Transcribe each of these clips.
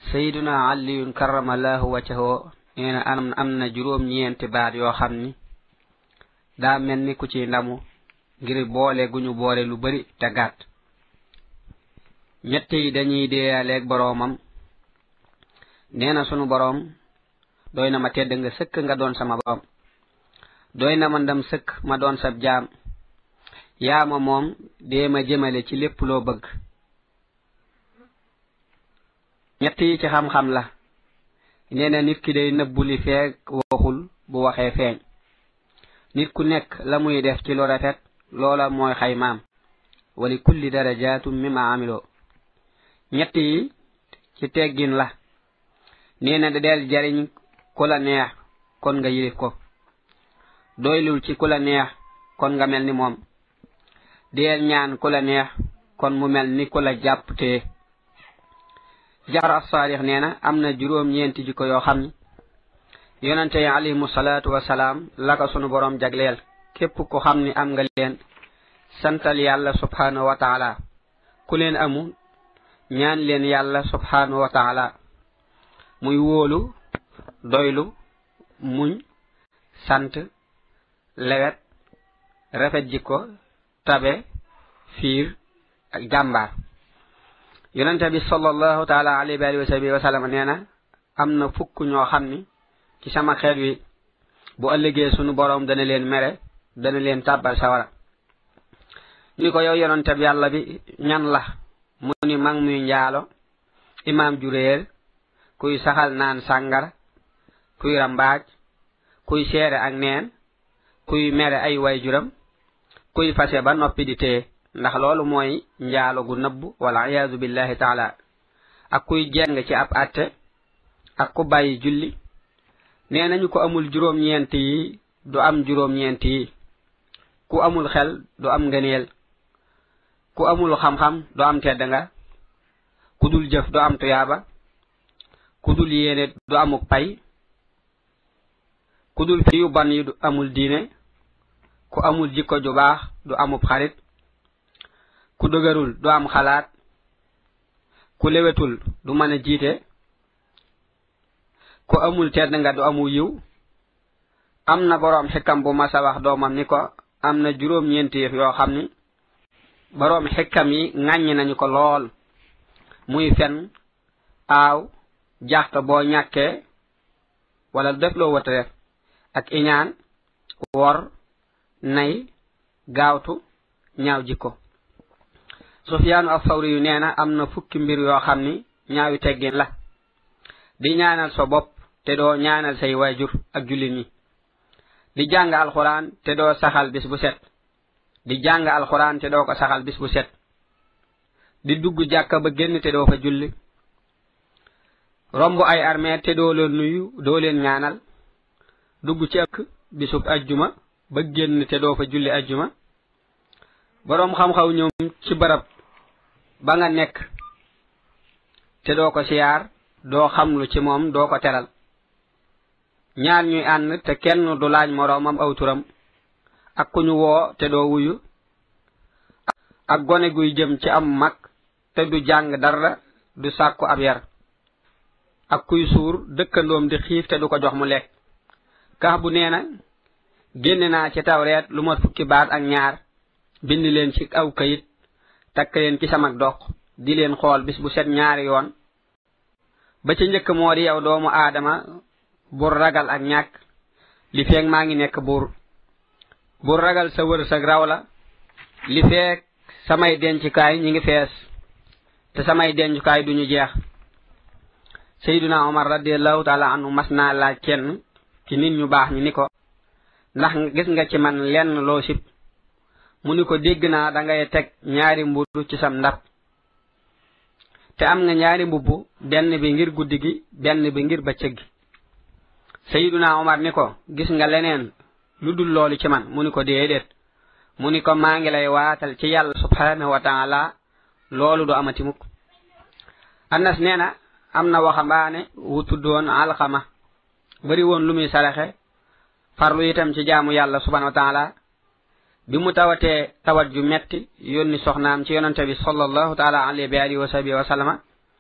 sayyiduna aliyun karramallahu wajhahu neena am na juróom ñeenti baat yoo xam ni daa mel ni ku ci ndamu ngir boole guñu boole lu bari te gàtt ñett yi dañuy deeyaleeg boroomam neena sunu boroom doy na ma tedd nga sëkk nga doon sama boroom doy na ma ndam sëkk ma doon sab jaam yaa ma moom dee ma jëmale ci lépp loo bëgg ñett yi ci xam-xam la neena nit ki day nëbbu li feeg waxul bu waxee feeñ nit ku nekk la muy def ci lu rafet loola mooy xaymaam wali kulli darajatum mimma amilo ñett yi ci teggin la neena da del jariñ ku la neex kon nga yilif ko doylul ci ku la neex kon nga mel ni moom del ñaan ku la neex kon mu mel ni ku la jàpp te Ja'far as-Sadiq neena am na juróom ñeenti jikko yoo xam ni yonante yi alayhimu salaatu wasalaam la ko sunu borom jagleel képp ku xam ni am nga leen santal yàlla subhanahu wa taala ku leen amu ñaan leen yàlla subhanahu wa taala muy wóolu doylu muñ sant lewet rafet jikko tabe fiir ak jàmbaar yonente bi sallallahu taala alayhi wa sallam neena am na fukk ñoo xam ni ci sama xeet wi bu ëllëgee sunu borom dana leen mere dana leen tàbbal sawara ni ko yow yonente bi yàlla bi ñan la mu ni mag muy njaalo imaam ju réer kuy saxal naan sàngara kuy rambaaj kuy seere ak neen kuy mere ay waajuram kuy fase ba noppi di téye ndax loolu mooy njaalo gu nëbb wala iyaazu billahi taala ak kuy jeng ci ab atte ak ku bàyyi julli nee nañu ko amul juróom-ñeent yi du am juróom-ñeent yi ku amul xel du am ngëneel ku amul xam-xam du am tedd nga ku dul jëf du am tuyaaba ku dul yéene du amuk pay ku dul fi yu ban yi du amul diine ku amul jikko ju baax du amub xarit ku dëgërul du am xalaat ku lewetul du mën a jiite ku amul tedd nga du amu yiw am na boroom xikam bu masa wax doomam ni ko am na juróom-ñeenti yëf yoo xam ni boroom xikam yi ŋàññi nañu ko lool muy fen aaw jaxta boo ñàkkee wala def loo wata def ak iñaan wor nay gaawtu ñaaw jikko Sufyaanu as-Sawri yu neena am na fukki mbir yoo xam ni ñaawi teggin la di ñaanal sa bopp te doo ñaanal say waajur ak jullit ñi di jàng alxuraan te doo saxal bis bu set di jàng alxuraan te doo ko saxal bis bu set di dugg jàkka ba génn te doo fa julli romb ay armée te doo leen nuyu doo leen ñaanal dugg ci ak bisub ajjuma ba génn te doo fa julli ajjuma boroom xam-xaw ñoom ci barab ba nga nekk te doo ko siyaar doo xamlu ci moom doo ko teral ñaar ñuy ànd te kenn du laaj moroomam aw turam ak ku ñu woo te doo wuyu ak gone guy jëm ci am mag te du jàng dara du sàkku ab yar ak kuy suur dëkkandoom di xiif te du ko jox mu lekk kax bu neena génne naa ci tawreet lu mat fukki baat ak ñaar bind leen ci aw kayit takk leen ci sama dox di leen xool bis bu set ñaari yoon ba ci njëkk moo di yow doomu aadama bur ragal ak ñàkk li feeg maa ngi nekk buur bur ragal sa wërsëg raw la li feeg samay dencukaay ñi ngi fees te samay dencukaay duñu jeex Sayyiduna Umar radiyallahu taala anhu mas naa laaj kenn ci nit ñu baax ñi ni ko ndax gis nga ci man lenn loo sib mu ni ko dégg naa da ngay teg ñaari mburu ci sam ndab te am nga ñaari mbubb benn bi ngir guddi gi benn bi ngir bëccëg gi Sayyiduna Umar ni ko gis nga leneen lu dul loolu ci man mu ni ko déedéet mu ni ko maa ngi lay waatal ci yàlla subhanahu wa taala loolu du amati mukk Anas neena am na waxambaane wu tuddoon Alxama bari woon lu muy saraxe farlu itam ci jaamu yàlla subhanahu wa taala bi mu tawatee tawat ju metti yónni soxnaam ci yonante bi sallallahu taala alayhi wa sahbihi wa sallama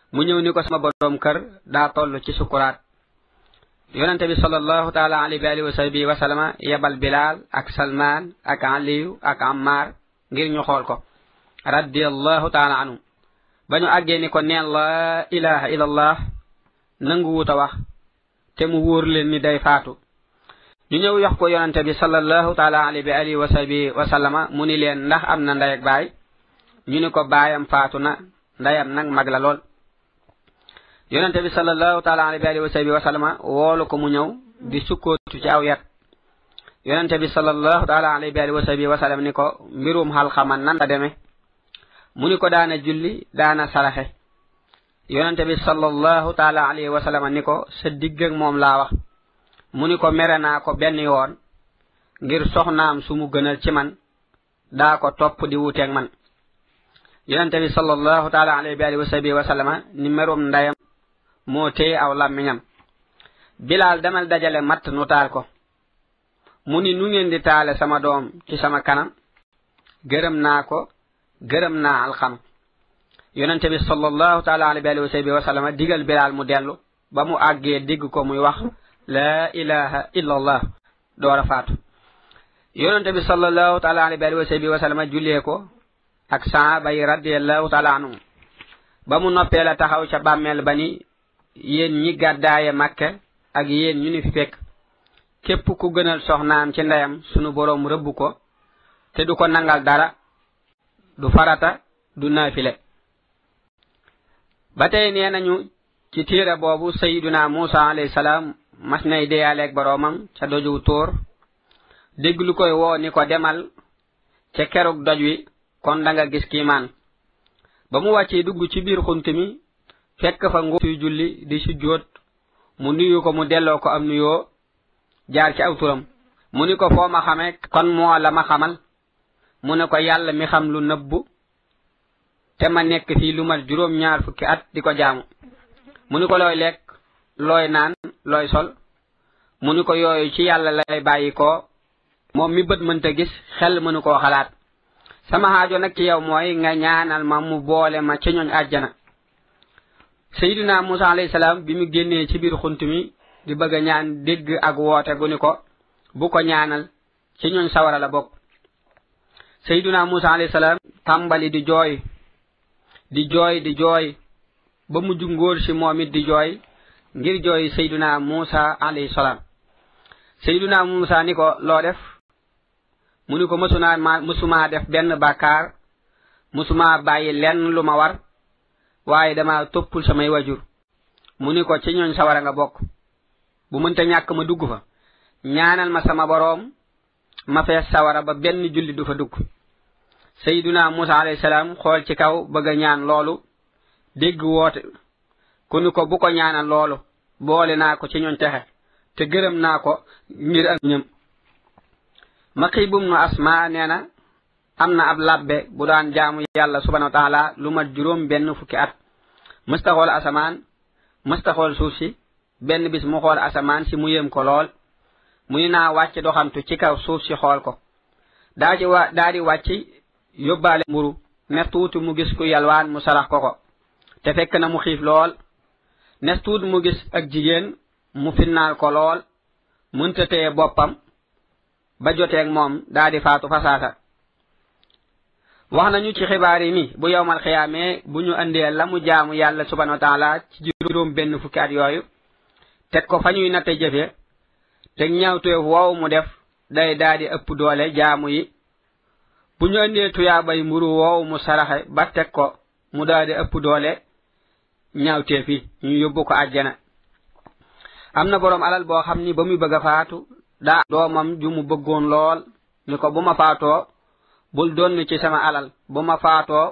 mu ñëw ni ko sama borom kër daa toll ci sukuraat. yonente bi sallallahu taala alayhi wa sahbihi wa sallama yebal Bilal ak Salman ak Aliyu ak Ammar ngir ñu xool ko radiyallahu taala anhu. ba ñu àggee ni ko neen la ilaha illallah nangu wuta wax te mu wóor leen ni day faatu. ñu ñëw yox ko yonente bi sallallahu taala alayhi wa sahbihi wa sallama mu ni leen ndax am na ndey ak baay. ñu ni ko baayam faatu na ndeyam nag mag la lool. yonente bi sallallahu taala alayhi wa sahbihi wa sallama woolu ko mu ñëw di sukkootu ci aw yat. yonente bi sallallahu taala alayhi wa sahbihi wa sallam ni ko mbirum Alxama nan la deme. mu ni ko daana julli daana saraxe. yonente bi sallallahu taala alayhi wa sallam ni ko sa digg ak moom laa wax. mu ni ko mere naa ko benn yoon ngir soxnaam su mu gënal ci man daa ko topp di wuteeg man. yonente bi sallallahu taala alayhi wa sahbihi wa sallama ni merum ndeyam moo téye aw làmmiñam. Bilal demal dajale matt nu taal ko. mu ni nu ngeen di taale sama doom ci sama kanam. gërëm naa ko gërëm naa Alxama. yonente bi sallallahu taala alayhi wa sahbihi wa sallama digal Bilal mu dellu ba mu àggee digg ko muy wax la ilaha illallah door a faatu. yonente bi sallallahu taala alayhi wa sahbihi wa sallama jullee ko ak saaba yi radiyallahu taala anhum. ba mu noppee la taxaw ca bàmmeel ba ni yéen ñi gàddaaye Makka ak yéen ñu ni fi fekk képp ku gënal soxnaam ci ndeyam sunu boroom rëbb ko te du ko nangal dara du farata du naafile. ba tey nee nañu ci téere boobu sayyiduna Musa alayhi salaam mas nay deyaaleeg boroomam ca doju tóor dégg lu koy woo ni ko demal ca kerug doj wi kon da nga gis kiimaan. ba mu wàccee dugg ci biir xunt mi fekk fa nguur suy julli di sujjóot mu nuyu ko mu delloo ko am nuyoo jaar ci aw turam. mu ni ko foo ma xamee kon moo la ma xamal. mu ne ko yàlla mi xam lu nëbbu te ma nekk fii lu mat juróom-ñaar fukki at di ko jaamu. mu ni ko looy lekk looy naan looy sol. mu ni ko yooyu ci yàlla lay bàyyi ko moom mi bët mënta gis xel mënu koo xalaat. sama xaajo nag ci yow mooy nga ñaanal ma mu boole ma ci ñooñ àjjana. sayyidina Musa alayhi salaam bi mu génnee ci biir xunt mi di bëgg a ñaan dégg ak woote gu ni ko bu ko ñaanal ci ñooñ sawara la bokk. sayyidina Musa alayhi salaam tàmbali di jooy di jooy ba mujj ngóor si moom it di jooy ngir jooy sayyidina Musa alayhi salaam. sayyidina Musa ni ko loo def. mu ni ko mësuma def benn bàkkaar mësuma bàyyi lenn lu ma war waaye dama toppul samay wajur. mu ni ko ci ñooñ sawara nga bokk bu mënta ñàkk ma dugg fa ñaanal ma sama boroom ma fees sawara ba benn julli du fa dugg. sayyiduna Musa alayhi salaam xool ci kaw bëgg a ñaan loolu dégg woote ku ni ko bu ko ñaanal loolu boole naa ko ci ñooñ texe te gërëm naa ko ngir ak ñëm. Maqibum nu Asma nee na am na ab labbe bu daan jaamu yàlla subhanahu wa taala lu mat juróom benn fukki at mësta xool asamaan mësta xool suuf si. benn bis mu xool asamaan si mu yéem ko lool mu ni naa wàcc doxantu ci kaw suuf si xool ko. daa di wàcc yóbbaale mburu nes tuuti mu gis ku yalwaan mu sarax ko te fekk na mu xiif lool. nes tuuti mu gis ak jigéen mu finnaal ko lool mënta téye boppam ba joteeg moom daa di faatu fasaasa. wax nañu ci xibaar yi ni bu yowmal xiyaamee bu ñu andee la mu jaamu yàlla subhanahu wa taala ci juróom benn fukki at yooyu teg ko fa ñuy natte jëfe te ñaawteef wow mu def day daa di ëpp doole jaamu yi. bu ñu andee tuyaabay mburu wow mu saraxe ba teg ko mu daa di ëpp doole ñaawteef yi ñu yóbbu ko àjjana. am na boroom alal boo xam ni ba muy bëgg a faatu daa doomam ju mu bëggoon lool ni ko bu ma faatoo bul donn ci sama alal bu ma faatoo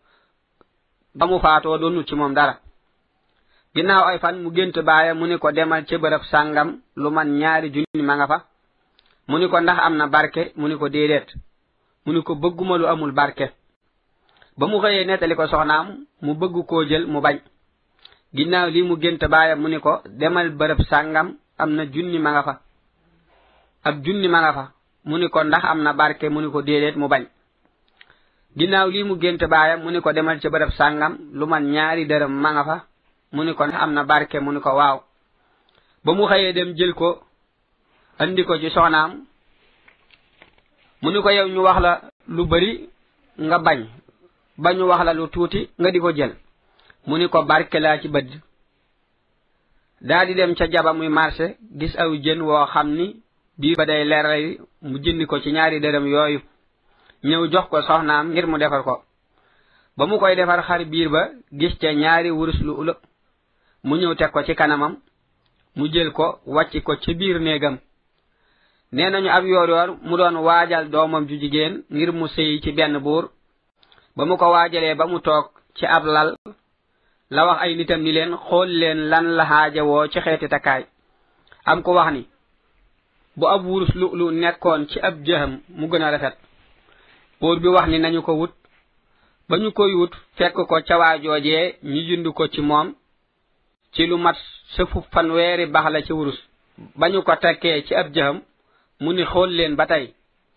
ba mu faatoo donnu ci moom dara. ginnaaw ay fan mu gént baaya mu ni ko demal ci bërëb sàngam lu man 2 junni ma nga fa. mu ni ko ndax am na barke mu ni ko déedéet. mu ni ko bëgguma lu amul barke. ba mu xëyee nettali ko soxnaam mu bëgg koo jël mu bañ. ginnaaw lii mu gént baaya mu ni ko demal bërëb sàngam am na 1 junni ma nga fa. ab 1 junni ma nga fa. mu ni ko ndax am na barke mu ni ko déedéet mu bañ. ginnaaw lii mu gént baayam mu ni ko demal ci bërëb sàngam lu man 2 dërëm ma nga fa mu ni ko am na barke mu ni ko waaw ba mu xëyee dem jël ko andi ko ci soxnaam mu ni ko yow ñu wax la lu bari nga bañ ba ñu wax la lu tuuti nga di ko jël mu ni ko barke laa ci bëdd daa di dem ca jaba muy marché gis aw jën woo xam ni biir ba day leeral mu jëndi ko ci 2 dërëm yooyu ñëw jox ko soxnaam ngir mu defar ko ba mu koy defar xar biir ba gis ca 2 wurus lu ula mu ñëw teg ko ci kanamam mu jël ko wàcc ko ci biir néegam nee nañu ab yoor mu doon waajal doomam ju jigéen ngir mu sëy ci benn buur ba mu ko waajalee ba mu toog ci ab lal la wax ay nitam ni leen xool leen lan la xaajawoo ci xeeti takkaay am ko wax ni bu ab wurus lu nekkoon ci ab jëxam mu gën a rafet buur bi wax ni nañu ko wut ba ñu koy wut fekk ko ca waajoojee ñu jënd ko ci moom ci lu mat sëfu 100 bax la ci wurus ba ñu ko tekkee ci ab jëxam mu ni xool leen ba tey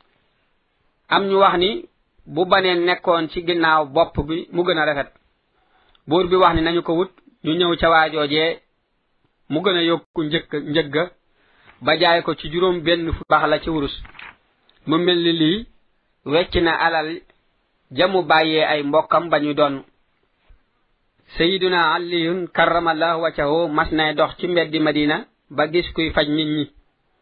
am ñu wax ni bu baneen nekkoon ci ginnaaw bopp bi mu gën a rafet buur bi wax ni nañu ko wut ñu ñëw ca waajoojee mu gën a yokku njëgga ba jaay ko ci juróom benn fu bax la ci wurus mu mel ni lii wecc na alal jamu bàyyee ay mbokkam ba ñu doon sayiduna aliyun karramallahu wajhahu mas nay dox ci mbeddi madina ba gis kuy faj nit ñi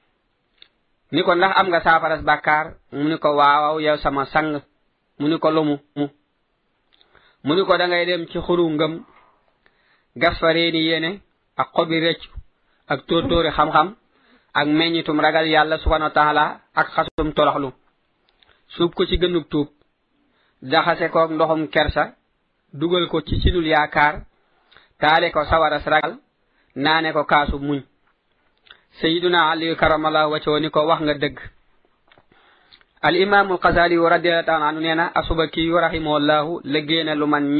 ni ko ndax am nga saafaras bàkkaar mu ni ko waaw yow sama sang mu ni ko lumu mu ni ko da ngay dem ci xuru ngëm gas fa reeni yéene ak xobi rëccu ak tóortóori xam-xam ak meññitum ragal yàlla subhanahu wa taala ak xasum toroxlu suub ko ci gënug tuub jaxase ko ndoxum kersa dugal ko ci sinul yaakaar taale ko sawaras ragal naane ko kaasu muñ sayiduna ali karamallahu wajhahu ni ko wax nga dëgg al imam al Ghazali radiyallahu ta'ala anhu neena asubaki rahimahullahu liggéeyal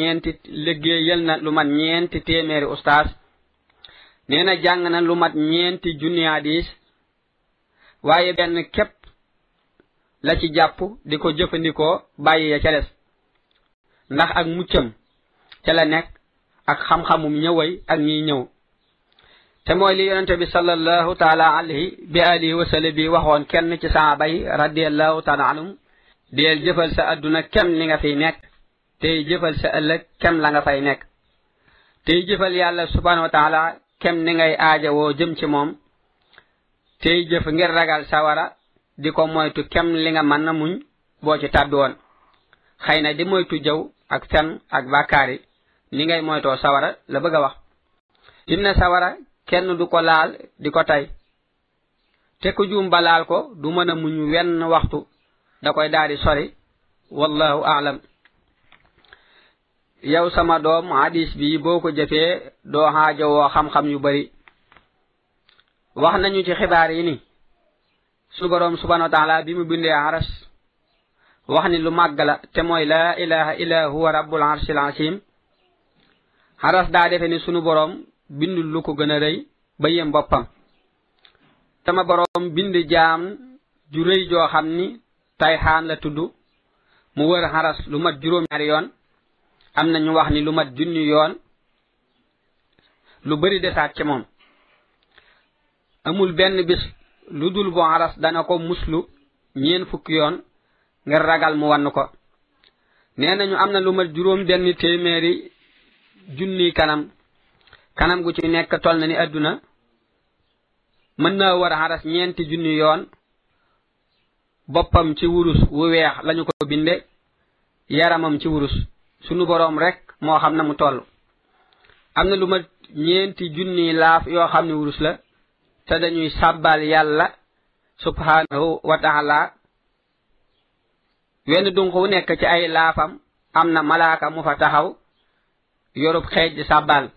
na lu man ñeenti téeméeri ustaas neena jàng na lu mat 4 junni hadis waaye benn képp la ci jàpp di ko jëfandikoo bàyyi ya ca des ndax ak muccam ca la nekk ak xam-xamum ñëway ak ñiy ñëw te mooy li yonente bi sallallahu taala alayhi bi alihi wa sallam bi waxoon kenn ci sahaaba yi radiyallahu taala anhum deel jëfal sa adduna kem li nga fiy nekk tey jëfal sa ëllëg kem la nga fay nekk tey jëfal yàlla subhanahu wa taala kem ni ngay aajawoo jëm ci moom tey jëf ngir ragal sawara di ko moytu kem li nga mën na muñ boo ci tàbbi woon xëy na di moytu jëw ak fen ak bàkkaari ni ngay moytoo sawara la bëgg a wax inna sawara kenn du ko laal di ko tay te ku juum ba laal ko du mën a muñ wenn waxtu da koy daal di sori wallahu a'lam yow sama doom hadis bi boo ko jëfee doo xaajowoo xam-xam yu bari wax nañu ci xibaar yi ni su boroom subhanahu wa ta'ala bi mu bindee aras wax ni lu màgg la te mooy la ilaha illa huwa rabbul arshil azim aras daa defe ni sunu boroom bindul lu ko gën a rëy ba yem boppam sama boroom bind jaam ju rëy joo xam ni tayxaan la tudd mu wër aras lu mat 2 yoon am na ñu wax ni lu mat 1,000 yoon lu bari desaat ci moom amul benn bis lu dul bu aras dana ko muslu 40 yoon ngir ragal mu wann ko nee nañu am na lu mat 7 junni kanam gu ci nekk tol na ni adduna mën naa war aras 4 junni yoon boppam ci wurus wu weex lañu ko binde yaramam ci wurus sunu boroom rek moo xam na mu toll am na lu mat 4 junni laaf yoo xam ne wurus la te dañuy sàbbal yàlla subhanahu wa ta'ala wenn dunq wu nekk ci ay laafam am na malaaka mu fa taxaw yorub xeej di sàbbal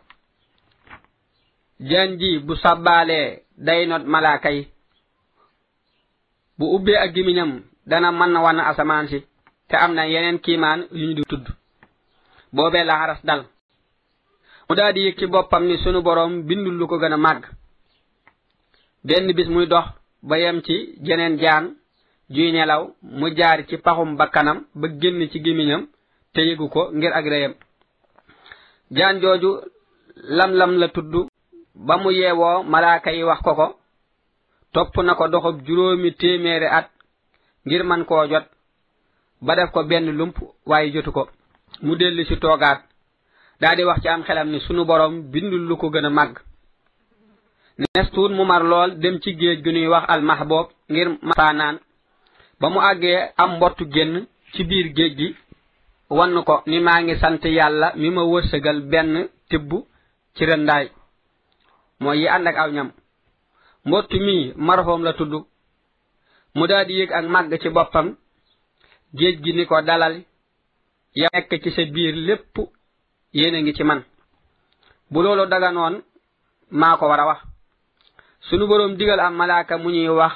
jaan ji bu sàbbaalee day not malaaka yi bu ubbee ak gimiñam dana mën na wan asamaan si te am na yeneen kiimaan yu ñu di tudd boobee la aras dal mu daal di yëg ci boppam ni sunu boroom bindul lu ko gën a màgg benn bis muy dox ba yem ci jeneen jaan juy nelaw mu jaar ci paxum bakkanam ba génn ci gémmiñam te yëgu ko ngir ak reyam jaan jooju lam-lam la tudd ba mu yeewoo malaaka yi wax ko topp na ko doxub 700 at ngir man koo jot ba def ko benn lump waaye jotu ko mu dellu ci toogaat daldi wax ci am xelam ni sunu borom bindul lu ko gën a màgg nestuut mu mar lool dem ci géej gu ñuy wax almahboob ngir maanaan ba mu àggee am mbottu génn ci biir géej gi wann ko ni maa ngi sant yàlla mi ma wërsëgal benn tibb ci rëndaay mooy yi ànd ak aw ñam mbottu mi marfoom la tudd mu daldi yëg ak màgg ci boppam géej gi ni ko dalal ya nekk ci sa biir lépp yéena ngi ci man bu loolu daganoon maa ko war a wax sunu boroom digal am malaaka mu ñuy wax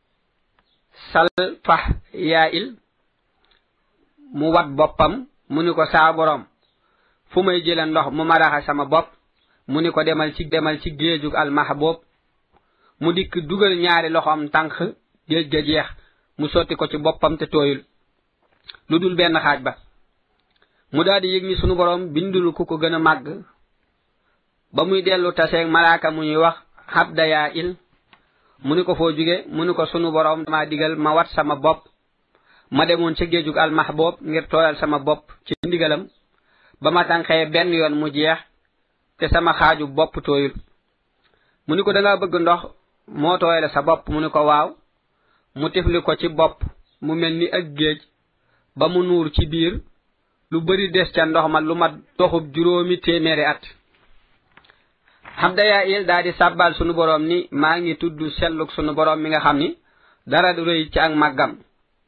salfah yaa il mu wat boppam mu ni ko saa boroom fu may jële ndox mu maraxa sama bopp mu ni ko demal ci géejug almahboob mu dikk dugal ñaari loxoom tànk géej ga jeex mu sotti ko ci boppam te tooyul lu dul benn xaaj ba mu daldi yëg ni sunu boroom bindul ku ko gën a màgg ba muy dellu taseeg malaaka mu ñuy wax habda yaa il mu ni ko foo jóge mu ni ko sunu boroom dama digal ma wat sama bopp ma demoon ca géejug almahboob ngir tooyal sama bopp ci ndigalam ba ma tànqee benn yoon mu jeex te sama xaaju bopp tooyul mu ni ko danga bëgg ndox moo tooyale sa bopp mu ni ko waaw mu tifli ko ci bopp mu mel ni ak géej ba mu nuur ci biir lu bari des ca ndox ma lu mat doxub 700 at habda yaa il daldi sàbbal sunu boroom ni maa ngi tudd selluk sunu boroom mi nga xam ni dara du rëy ci ak màggam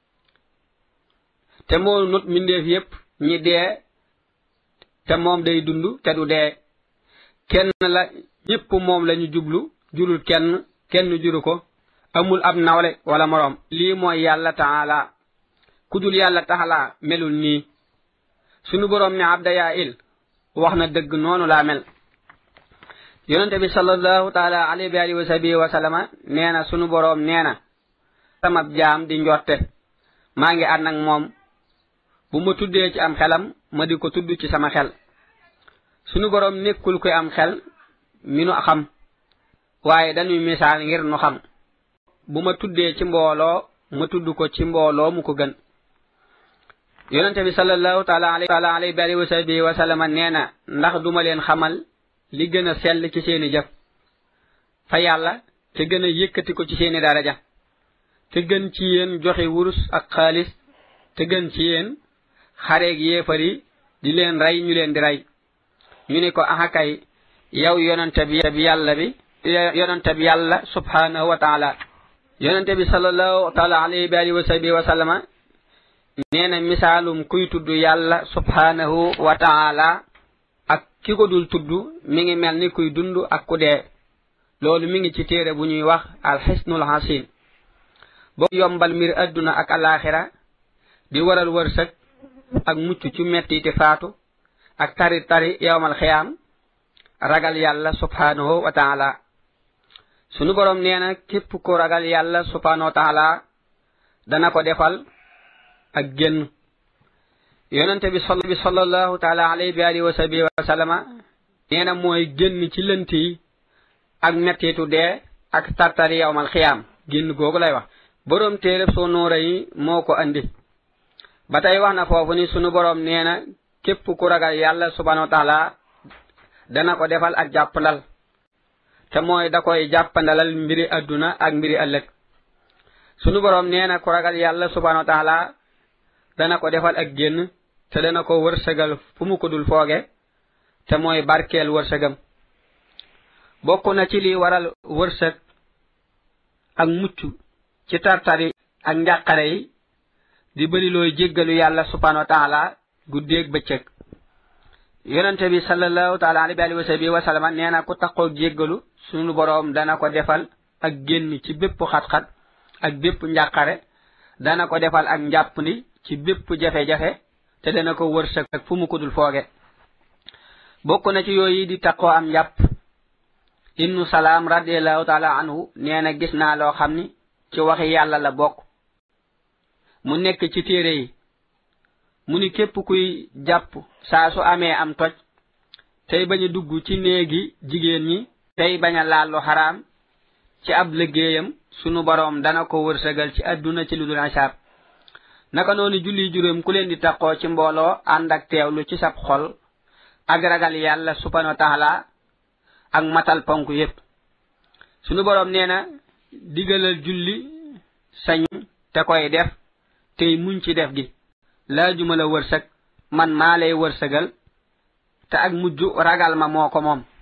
te moo not mbindeef yépp ñi dee te moom day dund te du dee kenn la ñépp moom lañu jublu jurul kenn juru ko amul ab nawle wala moroom lii mooy yàlla taala kudul yàlla taala melul nii sunu boroom ne habda yaa il wax na dëgg noonu laa mel yonente bi sallallahu taala alayhi wa sahbihi wa sallama nee na sunu boroom nee na sama jaam di njorte maa ngi ànd ak moom bu ma tuddee ci am xelam ma di ko tudd ci sama xel sunu boroom nekkul koy am xel mi nu xam waaye dañuy misaal ngir nu xam bu ma tuddee ci mbooloo ma tudd ko ci mbooloo mu ko gën yonente bi sallallahu taala alayhi wa sahbihi wa sallama nee na ndax duma leen xamal li gën a sell ci seeni jëf fa yàlla te gën a yëkkati ko ci seeni daraja te gën ci yéen joxe wurus ak xaalis te gën ci yéen xareeg yéefar yi di leen rey ñu leen di rey ñu ni ko axakay yow yonente bi yàlla subhanahu wa taala yonente bi sallallahu taala alayhi wa sahbihi wa sallama nee na misaalum kuy tudd yàlla subhanahu wa taala ak ki ko dul tudd mi ngi mel ni kuy dund ak ku dee loolu mi ngi ci téere bu ñuy wax alxisnul hasin boo yombal mbir adduna ak alaxira di waral wërsëg ak mucc ci metti te faatu ak tari yawmal xiyaam ragal yàlla subhanahu wa taala sunu boroom nee na képp ku ragal yàlla subhanahu wa taala dana ko defal ak génn yonente bi sallallahu taala alayhi wa sahbihi wa sallama nee na mooy génn ci lënt yi ak mettitu dee ak tartari yawmal xiyaam génn googu lay wax boroom téereb soo noora yi moo ko andi ba tey wax na foofu ni sunu boroom nee na képp ku ragal yàlla subhanahu wa taala dana ko defal ak jàppandal te mooy da koy jàppandalal mbiri adduna ak mbiri ëllëg sunu boroom nee na ku ragal yàlla subhanahu wa taala dana ko defal ak génn te dana ko wërsëgal fu mu ko dul fooge te mooy barkeel wërsëgam bokk na ci li waral wërsëg ak mucc ci tartari ak njàqare yi di bëri looy jéggalu yàlla subhanahu wa taala guddeeg bëccëg yonente bi sallallahu taala alayhi wa sahbihi wa sallam nee na ku taxoo jéggalu sunu boroom dana ko defal ak génn ci bépp xat-xat ak bépp njàqare dana ko defal ak njàppandi ci bépp jafe-jafe te dana ko wërsëg ak fu mu ko dul fooge bokk na ci yooyu di taxoo am njàpp ibnu salaam radiyallahu taala anhu nee na gis naa loo xam ni ci waxi yàlla la bokk mu nekk ci téere yi mu ni képp kuy jàpp saa su amee am toj tey bañ a dugg ci néegi jigéen ñi tey bañ a laal lu xaraam ci ab liggéeyam sunu boroom dana ko wërsëgal ci àdduna ci lu dul asaab naka noonu julli juróom ku leen di taqoo ci mbooloo ànd ak teewlu ci sab xol ak ragal yàlla subhanahu wa taala ak matal ponk yépp sunu boroom nee na digalal julli sañ te koy def tey muñ ci def gi laajuma la wërsëg man maa lay wërsëgal te ak mujj ragal ma moo ko moom